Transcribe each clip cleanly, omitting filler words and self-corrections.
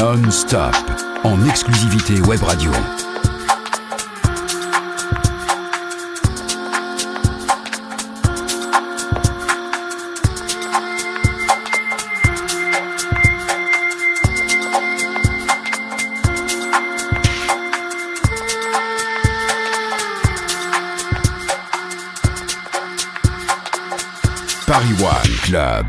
Non-stop, en exclusivité Web Radio. Paris One Club.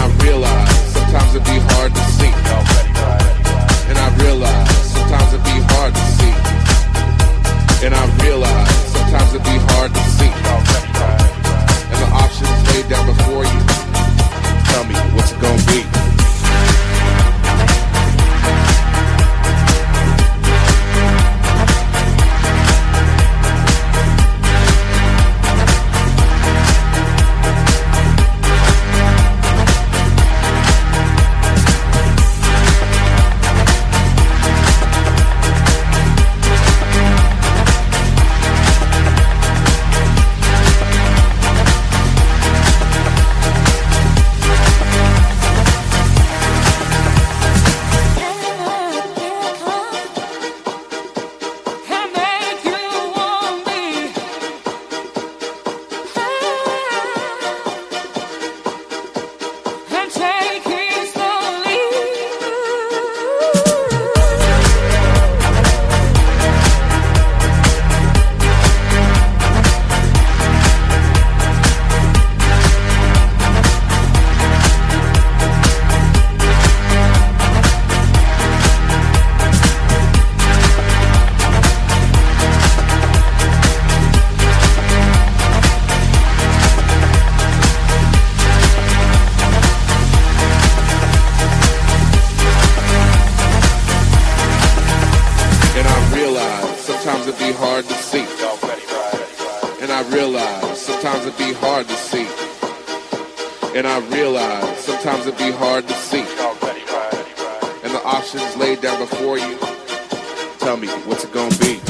realize sometimes it be hard to see. And I realize sometimes it be hard to see. And I realize sometimes it be hard to see. And the options laid down before you. Tell me what's it gonna be. And I realize sometimes it be hard to see. And the options laid down before you. Tell me, what's it gonna be?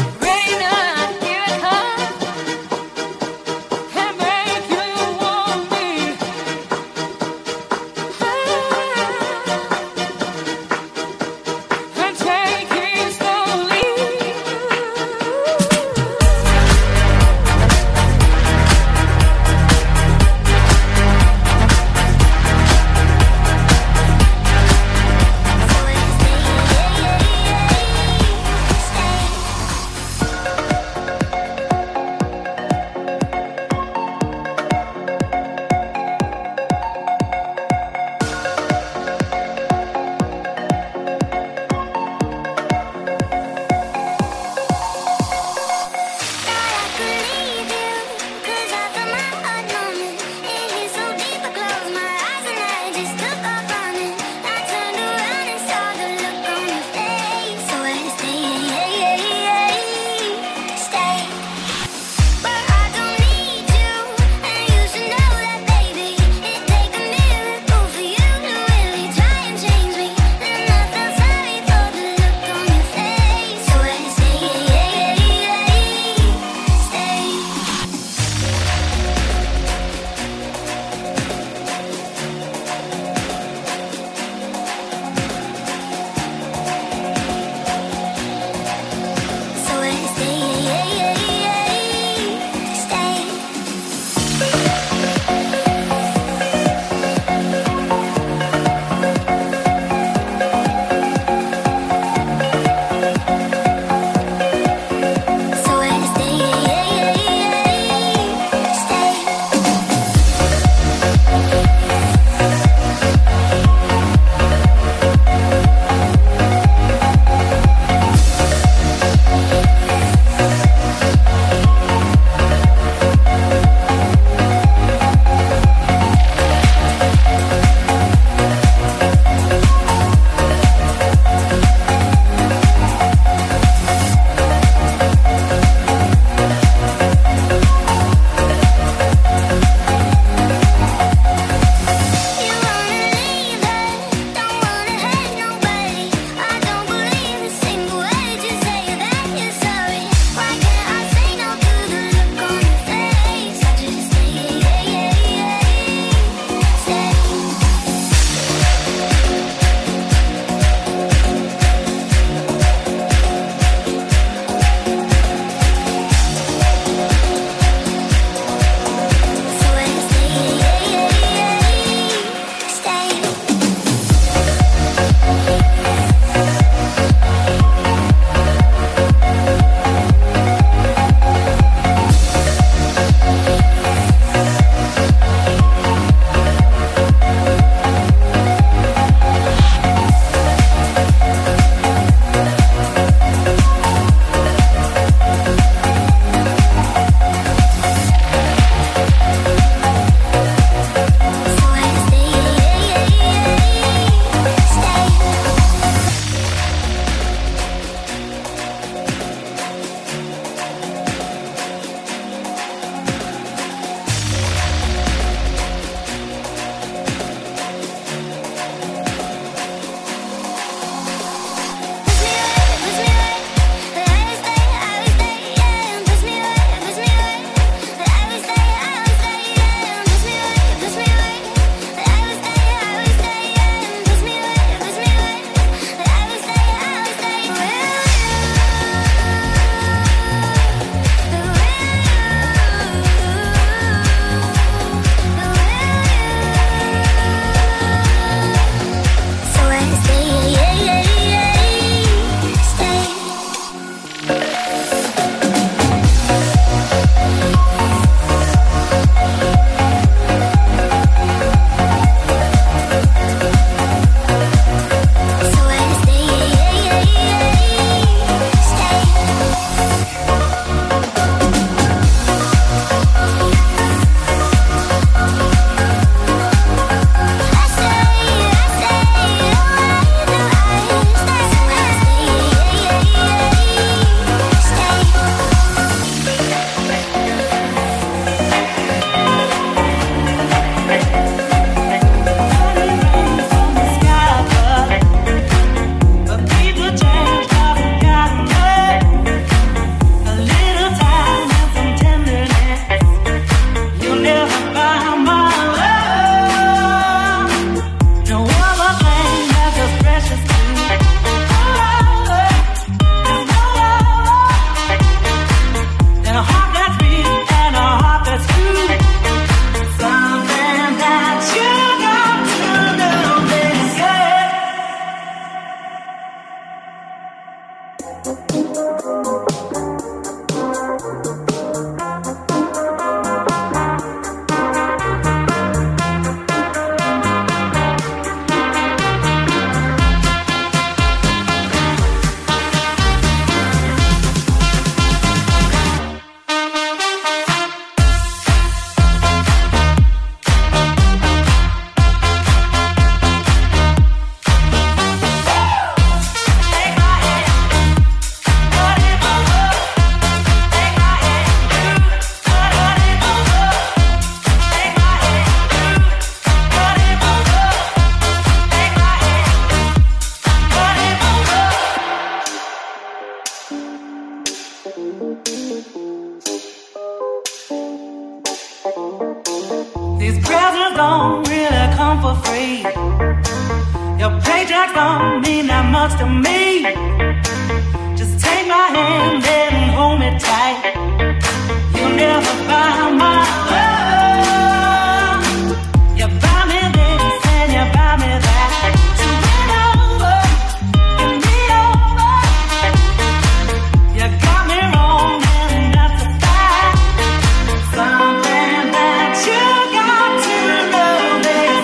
much to me. Just take my hand and hold me tight. You'll never buy my love. You buy me this and you buy me that. So bring over, give me over. You got me wrong and that's a fact. Something that you got to know is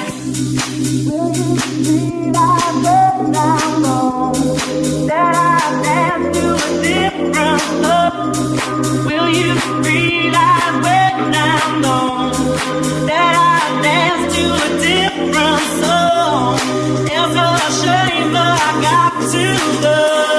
that I dance to a different love. Will you realize when I'm gone that I dance to a different song? It's a shame, but I got to go.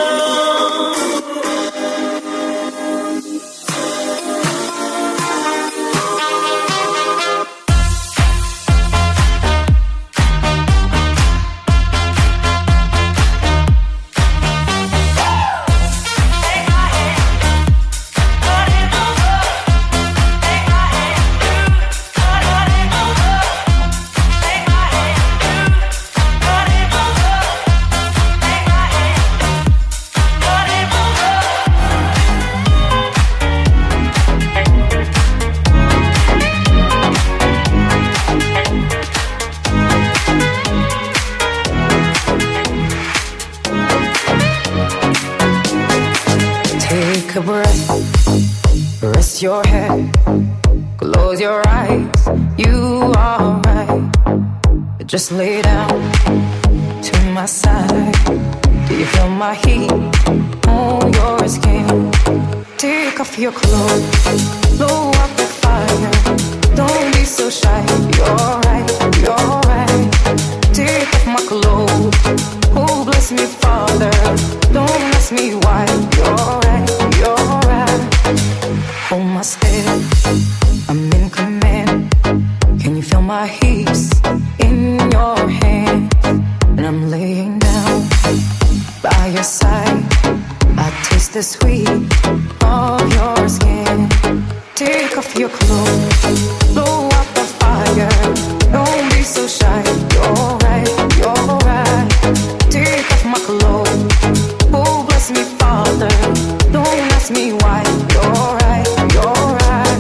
Take a breath, rest your head, close your eyes, you are right. Just lay down to my side. Do you feel my heat on your skin? Take off your clothes, blow up the fire. Don't be so shy, you're right, you're right. Take off my clothes, oh bless me Father. Don't ask me why, you're right, you're right. Hold my step, I'm in command. Can you feel my heat in your hand? And I'm laying down by your side. I taste the sweet of your skin. Take off your clothes, blow out the fire. Don't be so shy, you're right, you're right. Take off my clothes, oh bless me Father. Don't ask me why, you're right, you're right.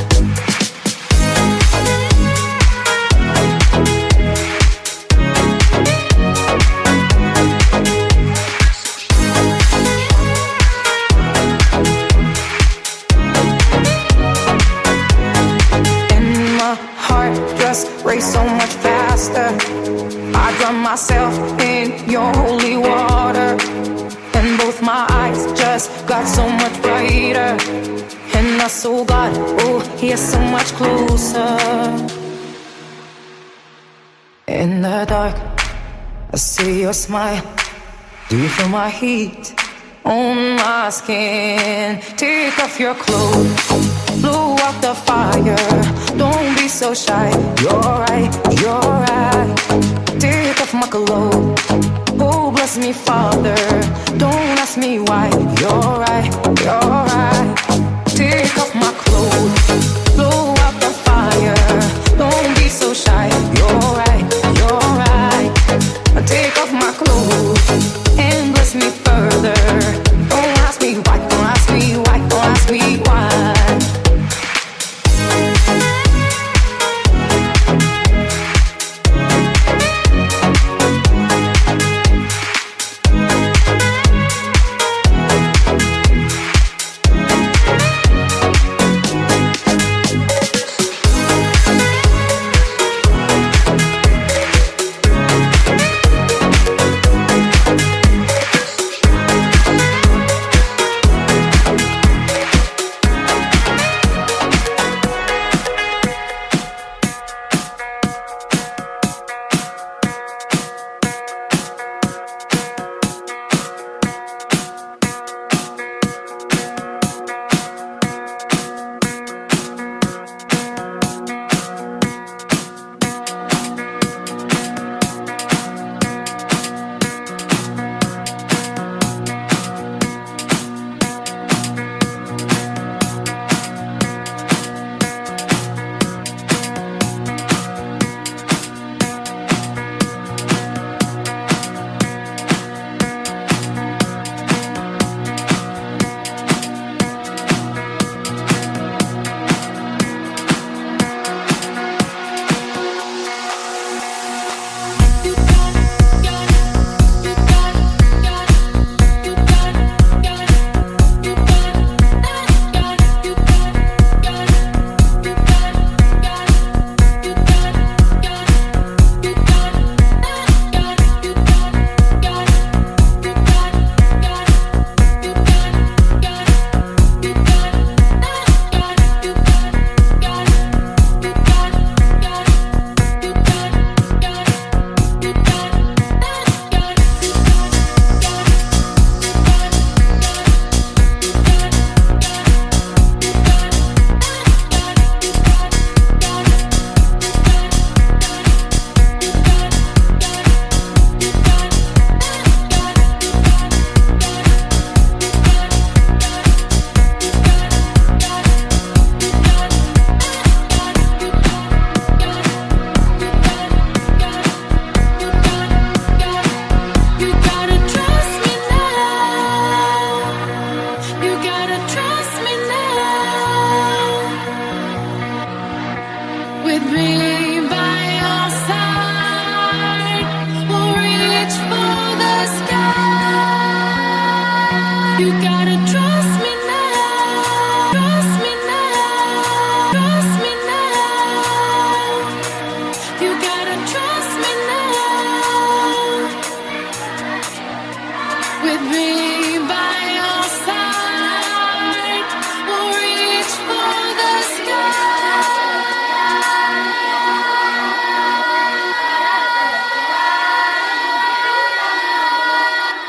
Race so much faster. I drown myself in your holy water, and both my eyes just got so much brighter. And I saw God, oh, He is so much closer. In the dark, I see your smile. Do you feel my heat on my skin? Take off your clothes, blow out the fire. Don't be so shy, you're right, you're right. Take off my clothes, oh bless me Father. Don't ask me why, you're right, you're right. Take off my clothes, blow out the fire. Don't be so shy, you're right, you're right. Take off my clothes and bless me further. Don't ask me why, don't ask me why, don't ask me why.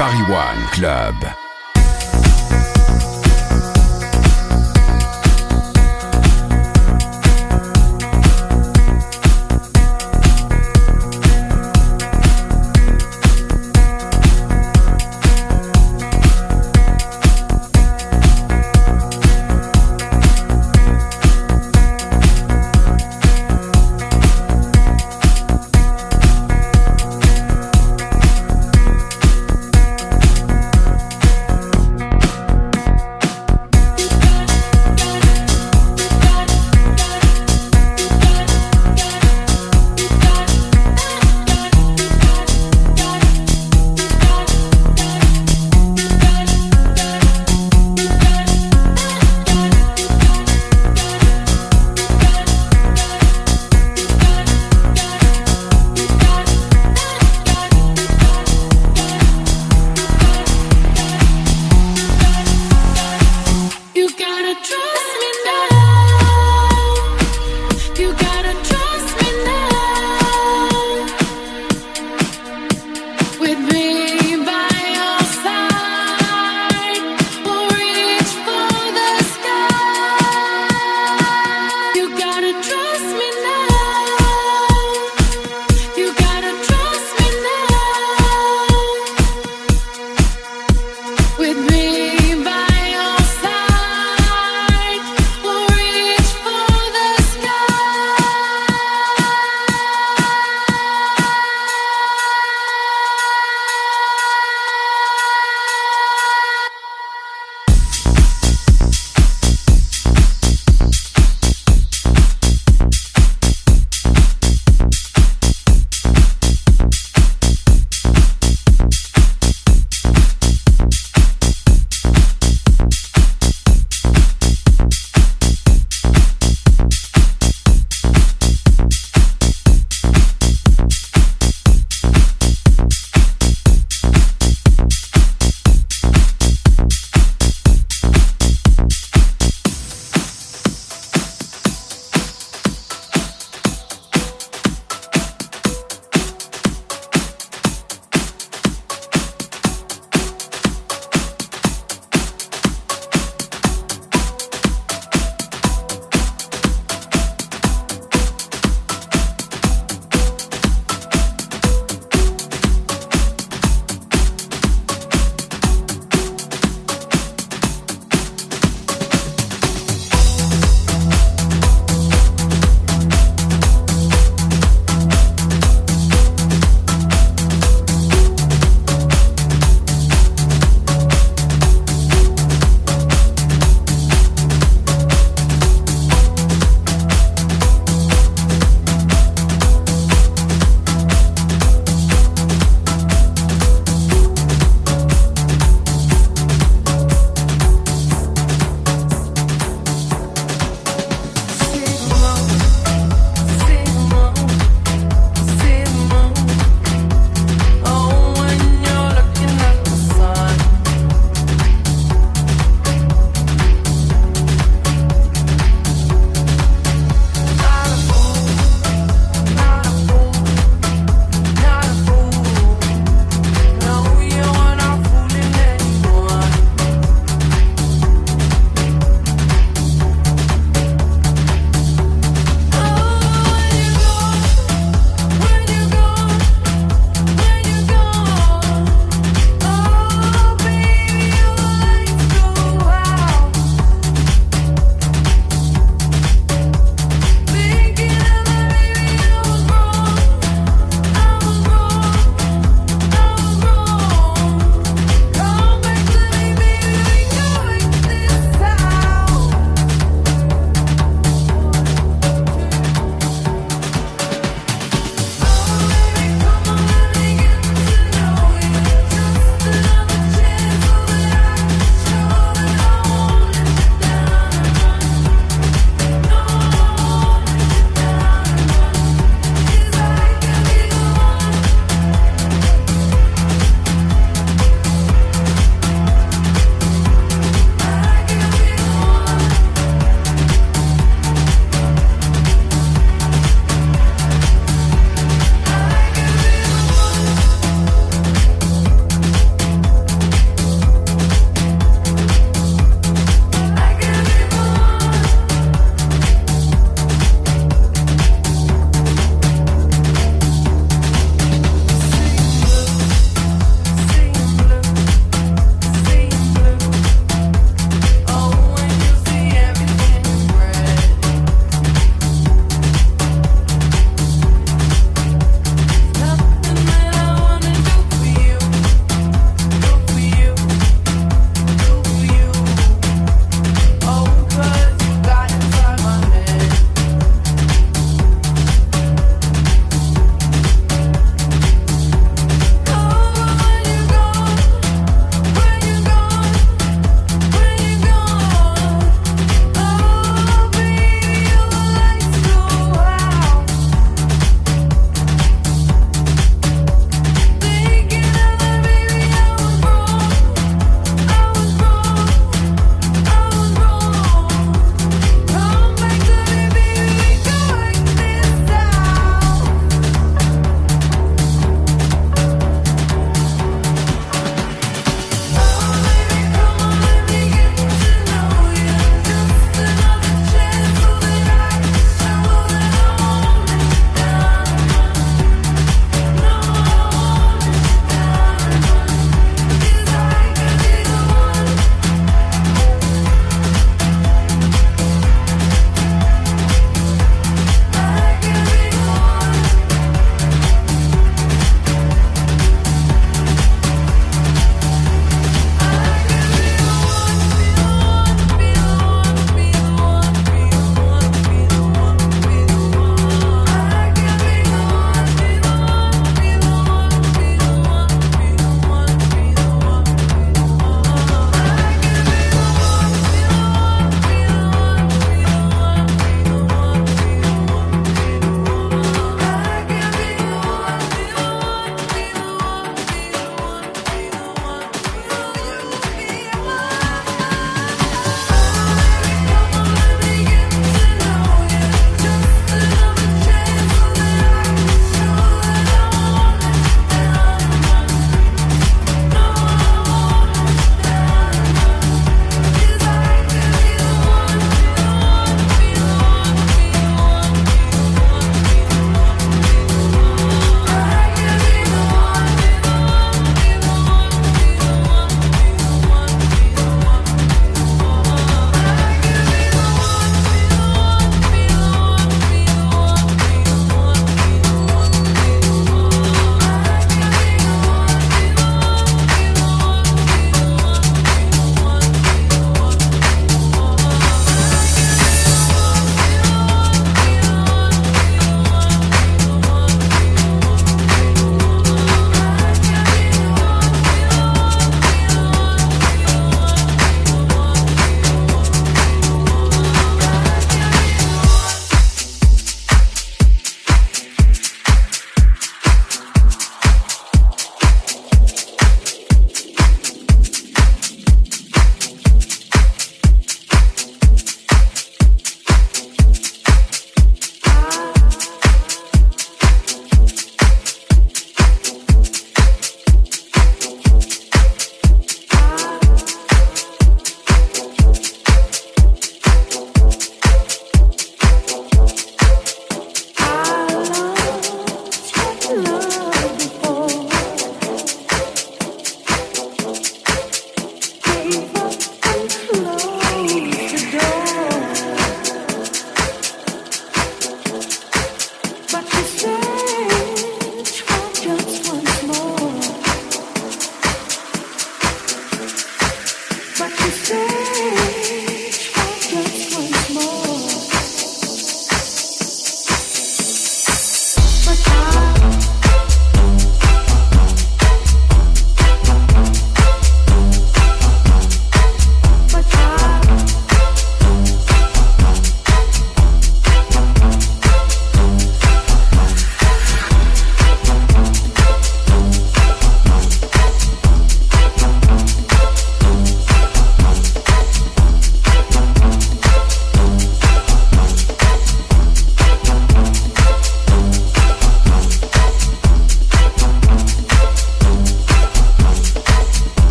Paris One Club.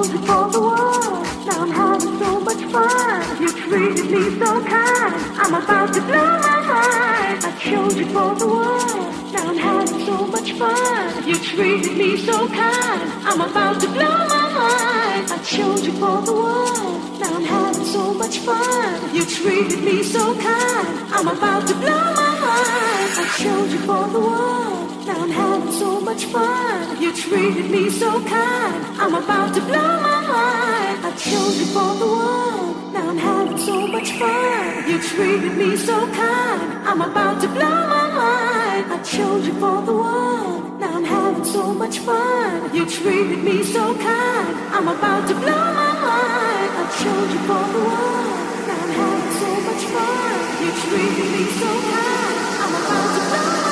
chose you for the world. Now I'm having so much fun. You treated me so kind. I'm about to blow my mind. I chose you for the world. Now I'm having so much fun. You treated me so kind. I'm about to blow my mind. I chose you for the world. Now I'm having so much fun. You treated me so kind. I'm about to blow my mind. I chose you for the world. Now I'm having so much fun. You treated me so kind. I'm about to blow my mind. I chose you for the world. Now I'm having so much fun. You treated me so kind. I'm about to blow my mind. I chose you for the world. Now I'm having so much fun. You treated me so kind. I'm about to blow my mind. I chose you for the world. Now I'm having so much fun. You treated me so kind. I'm about to blow my mind.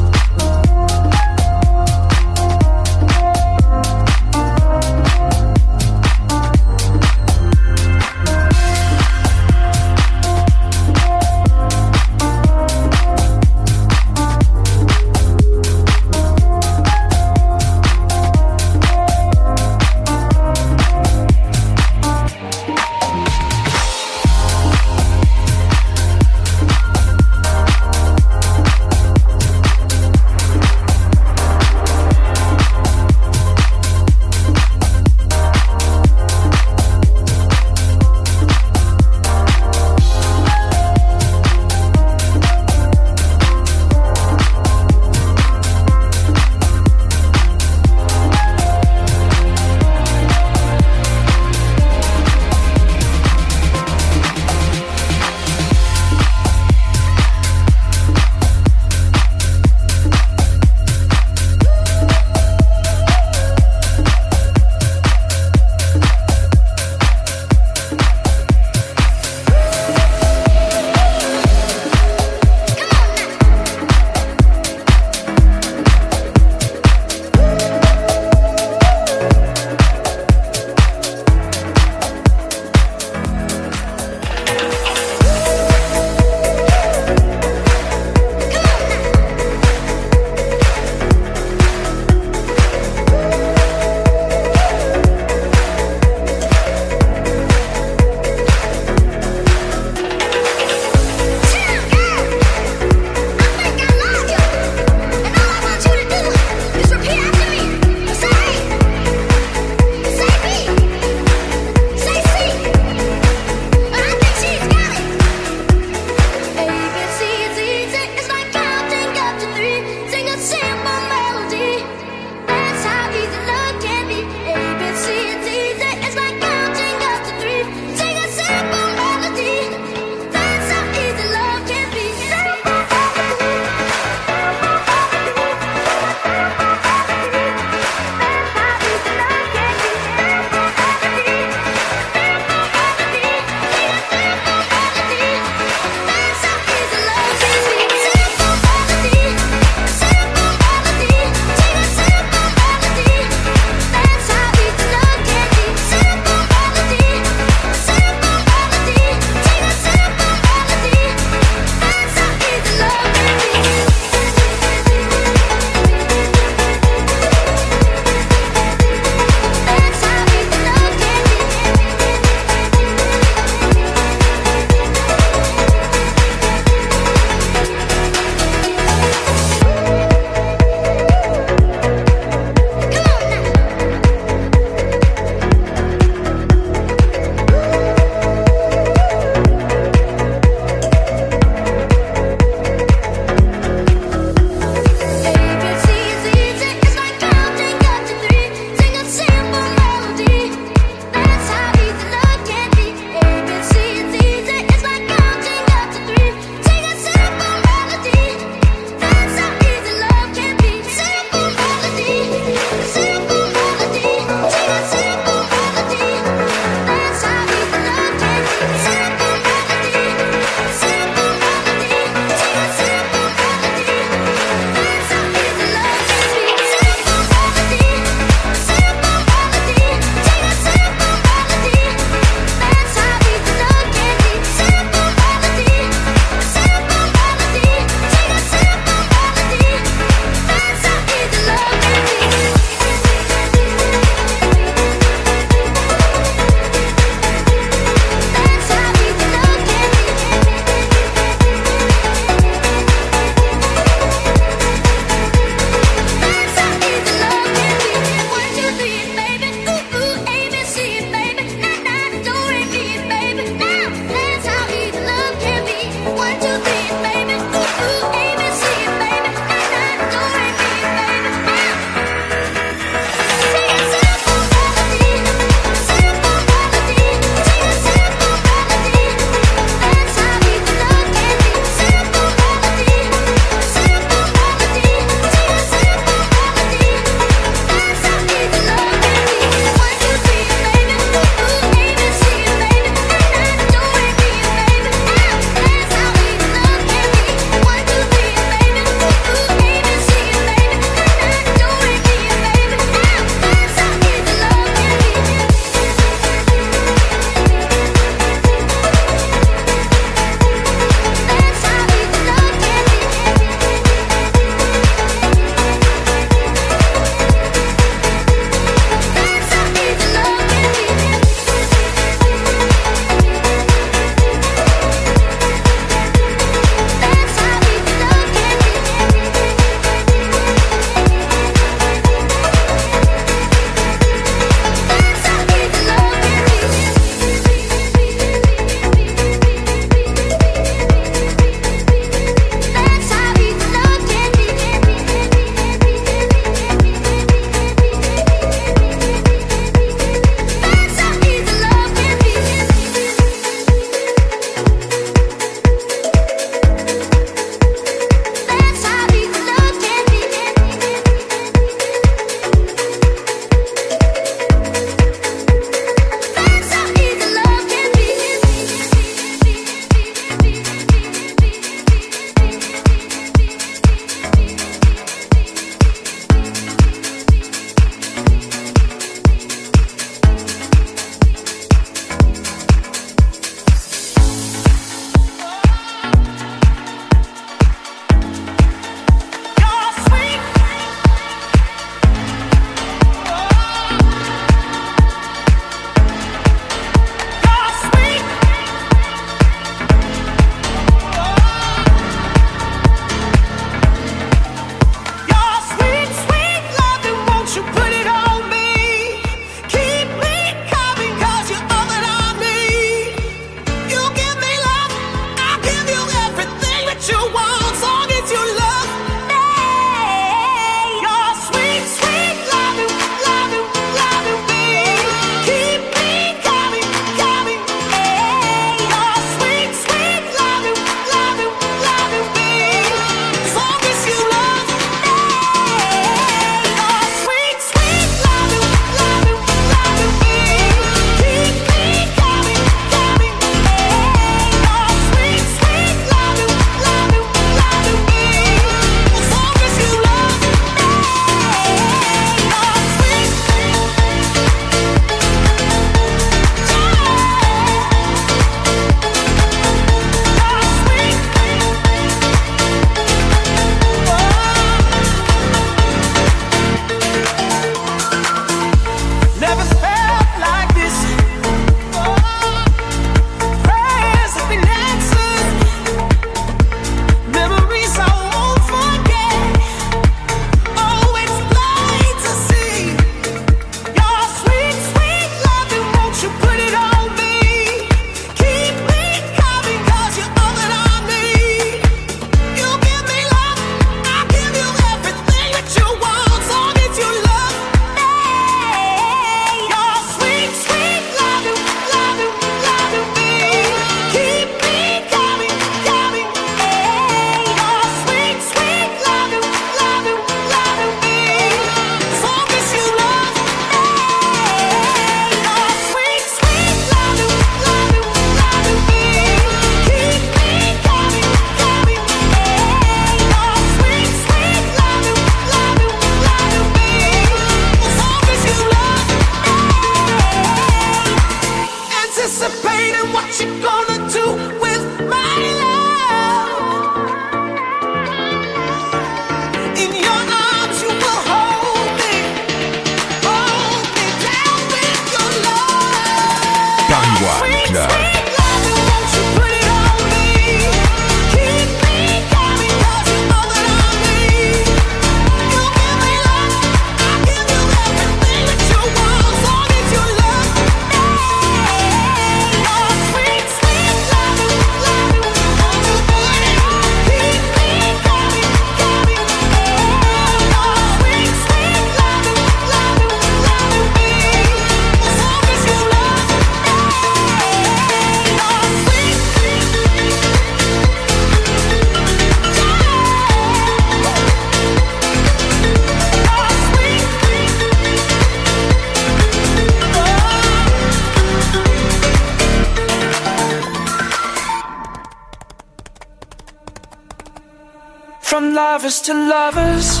lovers to lovers.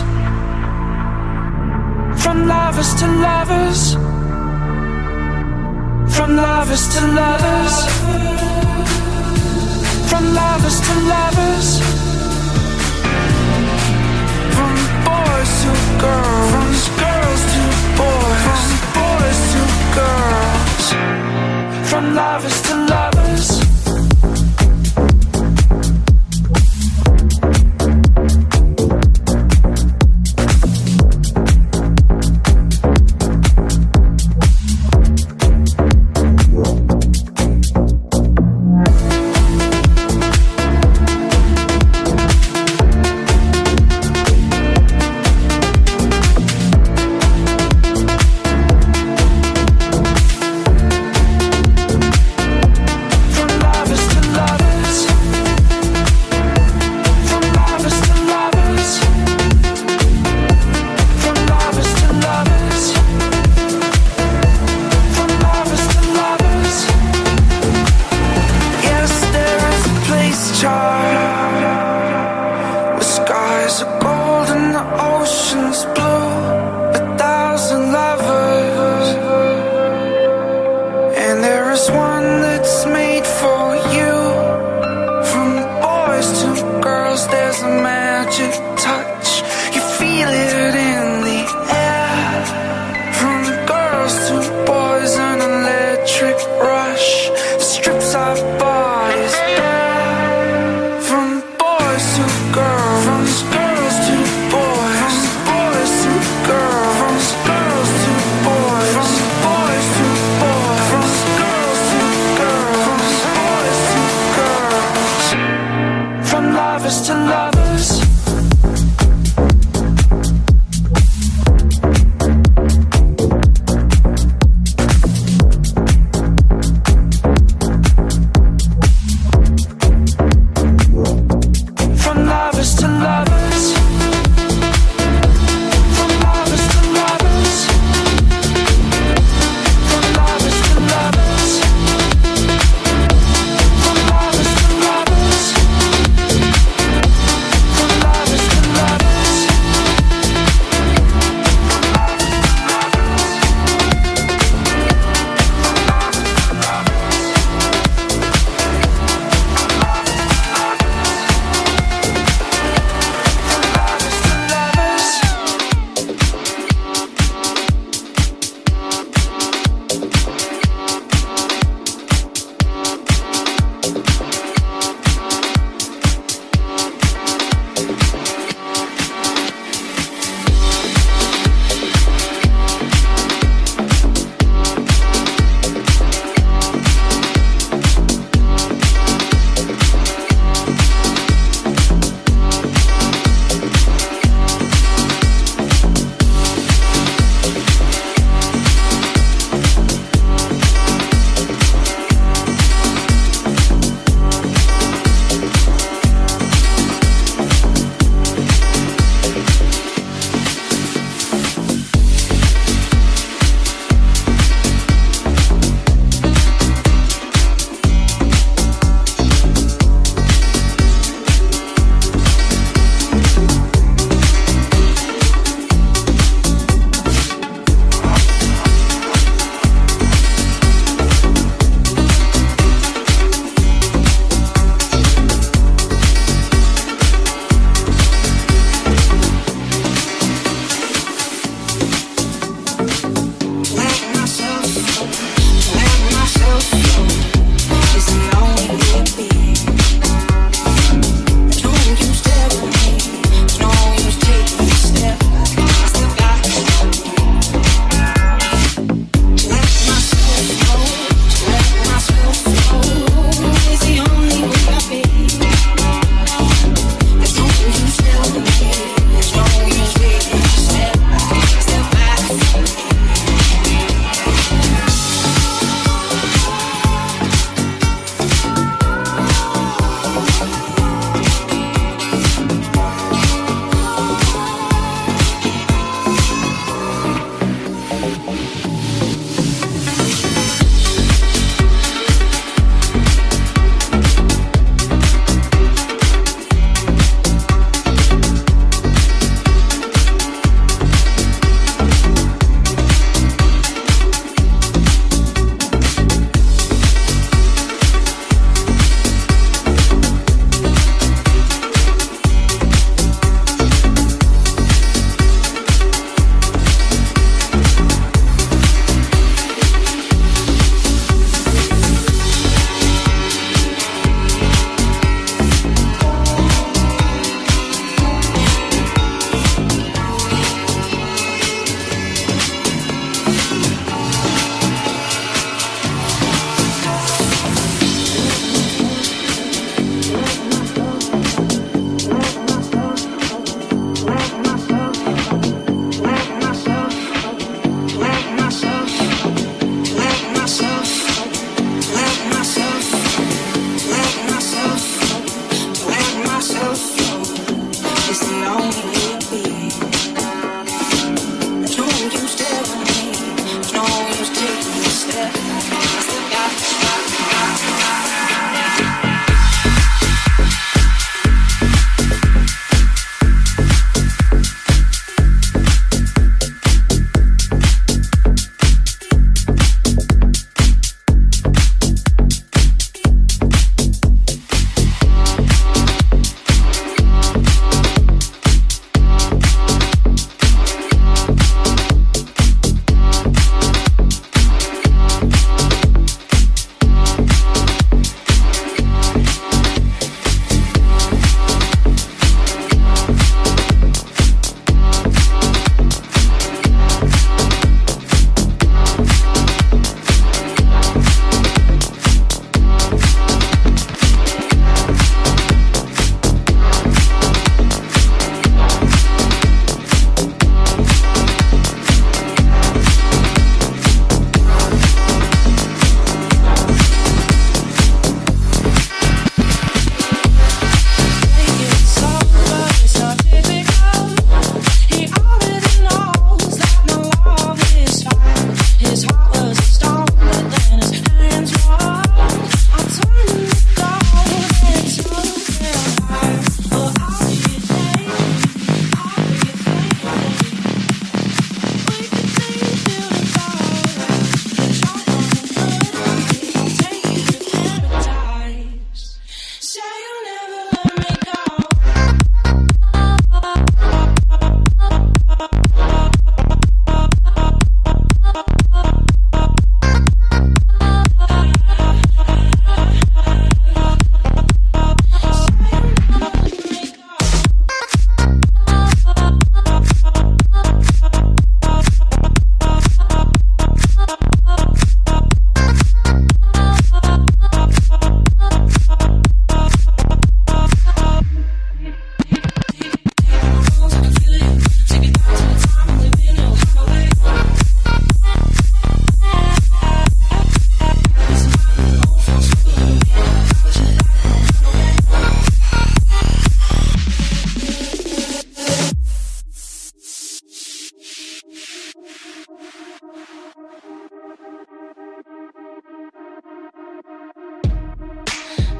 From lovers to lovers. From lovers to lovers. From lovers to lovers. From boys to girls. From girls to boys. From boys to girls. From lovers to lovers.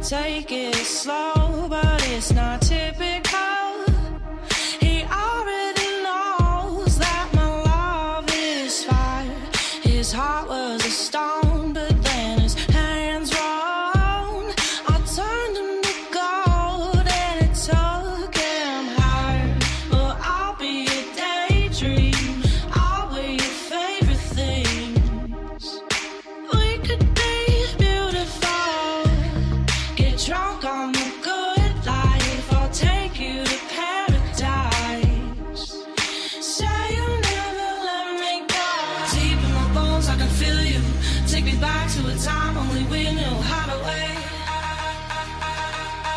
take it slow, but it's not typical. He already knows that my love is fire. His heart was a stone, but then his hands rolled. I turned him to gold and it took him higher. But I'll be a daydream, I'll wear your favorite things. We could be beautiful, get drunk on the good life. I'll take you to paradise. Say you'll never let me go. Deep in my bones I can feel you. Take me back to a time only we knew how to wait.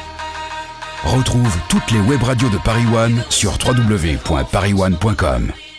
Retrouve toutes les web radios de Paris One sur www.parisone.com.